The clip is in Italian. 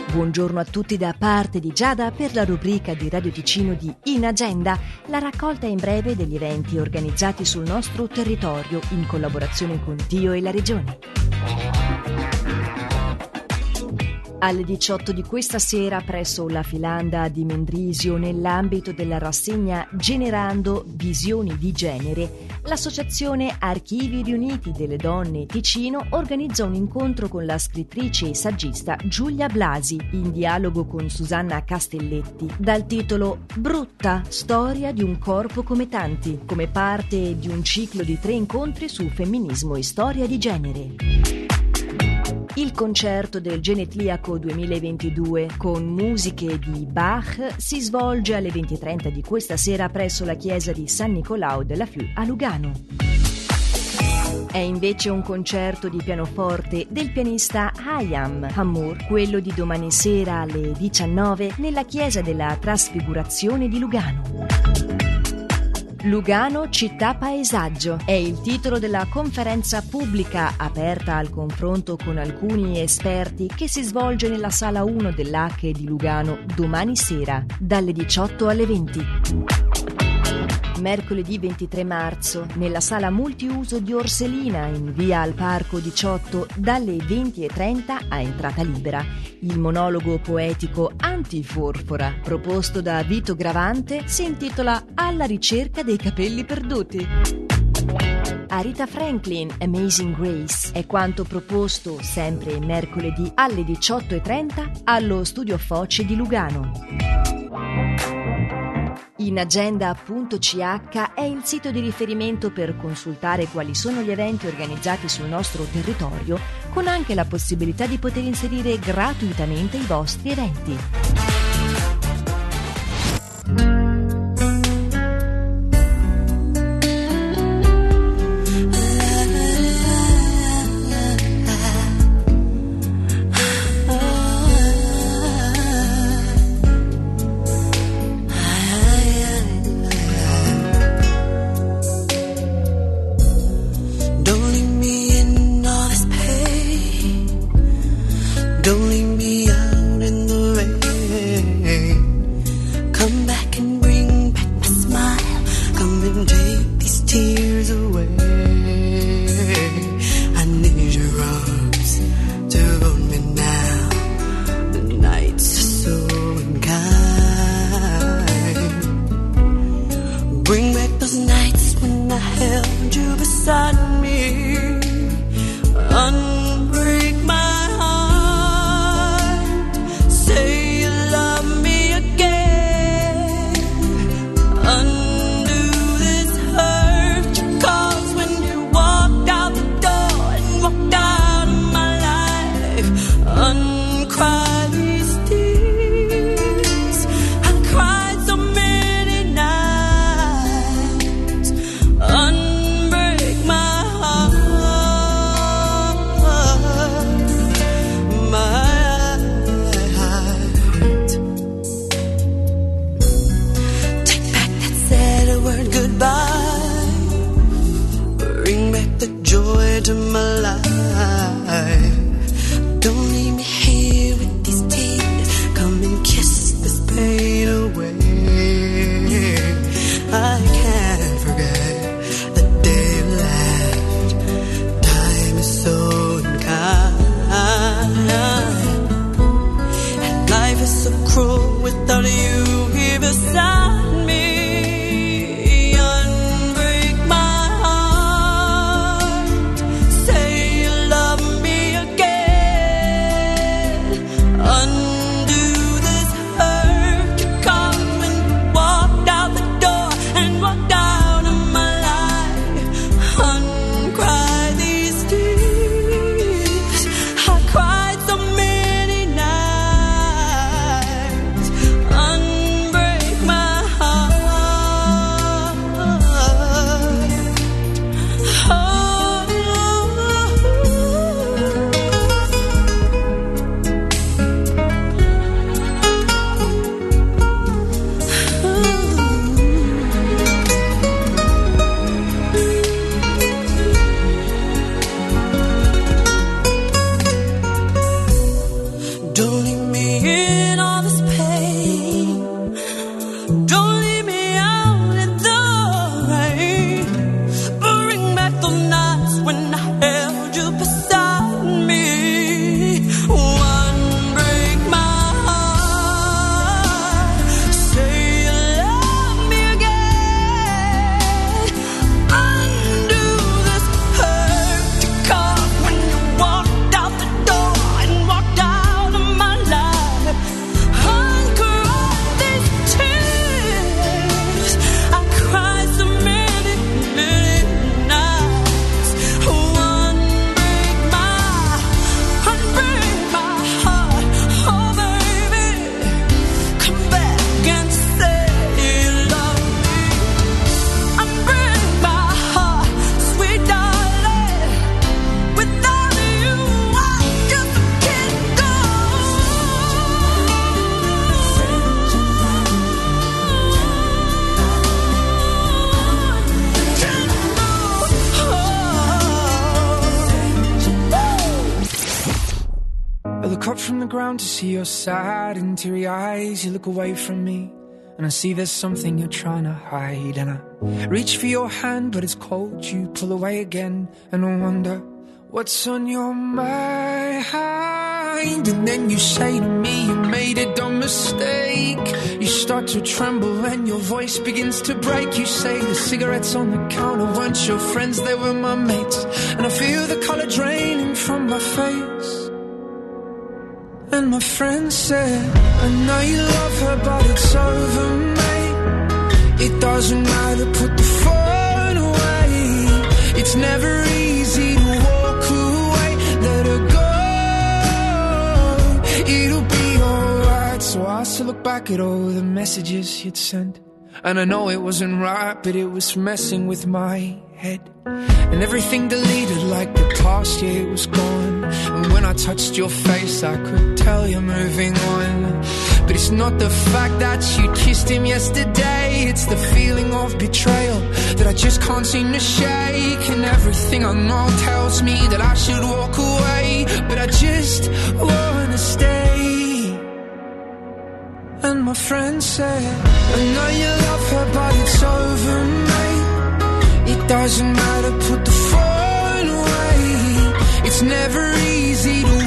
Buongiorno a tutti da parte di Giada per la rubrica di Radio Ticino di In Agenda, la raccolta in breve degli eventi organizzati sul nostro territorio in collaborazione con Dio e la Regione. Alle 18 di questa sera presso la Filanda di Mendrisio, nell'ambito della rassegna Generando Visioni di Genere, l'associazione Archivi Riuniti delle Donne Ticino organizza un incontro con la scrittrice e saggista Giulia Blasi, in dialogo con Susanna Castelletti, dal titolo Brutta, storia di un corpo come tanti, come parte di un ciclo di 3 incontri su femminismo e storia di genere. Il concerto del Genetliaco 2022 con musiche di Bach si svolge alle 20:30 di questa sera presso la chiesa di San Nicolao della Fiù a Lugano. È invece un concerto di pianoforte del pianista Hayam Hammour, quello di domani sera alle 19 nella chiesa della Trasfigurazione di Lugano. Lugano città paesaggio è il titolo della conferenza pubblica aperta al confronto con alcuni esperti che si svolge nella sala 1 dell'Acche di Lugano domani sera dalle 18 alle 20. Mercoledì 23 marzo nella sala multiuso di Orselina in via al Parco 18 dalle 20:30 a entrata libera il monologo poetico Antiforfora proposto da Vito Gravante si intitola Alla ricerca dei capelli perduti. Aretha Franklin, Amazing Grace è quanto proposto sempre mercoledì alle 18:30 allo Studio Foce di Lugano. Inagenda.ch è il sito di riferimento per consultare quali sono gli eventi organizzati sul nostro territorio, con anche la possibilità di poter inserire gratuitamente i vostri eventi. Don't leave me out in the rain. look up from the ground to see your sad and teary eyes. You look away from me and I see there's something you're trying to hide. And I reach for your hand but it's cold. You pull away again and I wonder what's on your mind. And then you say to me you made a dumb mistake. You start to tremble and your voice begins to break. You say the cigarettes on the counter weren't your friends, they were my mates. And I feel the colour draining from my face. And my friend said, I know you love her but it's over, mate. It doesn't matter, put the phone away. It's never easy to walk away. Let her go, it'll be alright. So I still look back at all the messages you'd sent. And I know it wasn't right, but it was messing with my head. And everything deleted like the past year was gone. And when I touched your face I could tell you're moving on. But it's not the fact that you kissed him yesterday, it's the feeling of betrayal that I just can't seem to shake. And everything I know tells me that I should walk away, but I just wanna stay. And my friend said, I know you love her but it's over, mate. It doesn't matter, put the phone away. It's never easy to